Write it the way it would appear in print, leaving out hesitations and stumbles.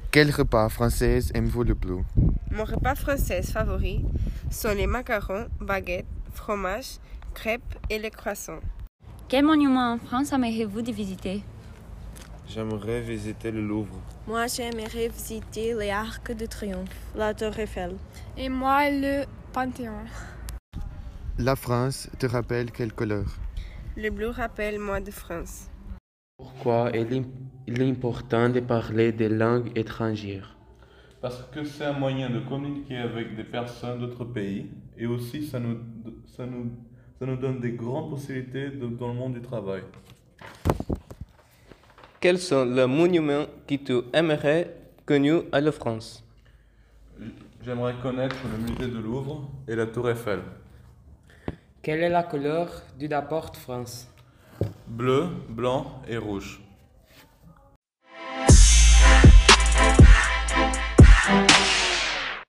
Quel repas français aimez-vous le plus? Mon repas français favori sont les macarons, baguettes, fromage, crêpes et les croissants. Quel monument en France aimeriez-vous de visiter? J'aimerais visiter le Louvre. Moi, j'aimerais visiter les Arcs de Triomphe, la Tour Eiffel. Et moi, le Panthéon. La France te rappelle quelle couleur? Le bleu rappelle moi de France. Pourquoi il est important de parler des langues étrangères? Parce que c'est un moyen de communiquer avec des personnes d'autres pays et aussi ça nous donne des grandes possibilités dans le monde du travail. Quels sont les monuments que tu aimerais connus à la France? J'aimerais connaître le musée de Louvre et la Tour Eiffel. Quelle est la couleur du drapeau de France? Bleu, blanc et rouge.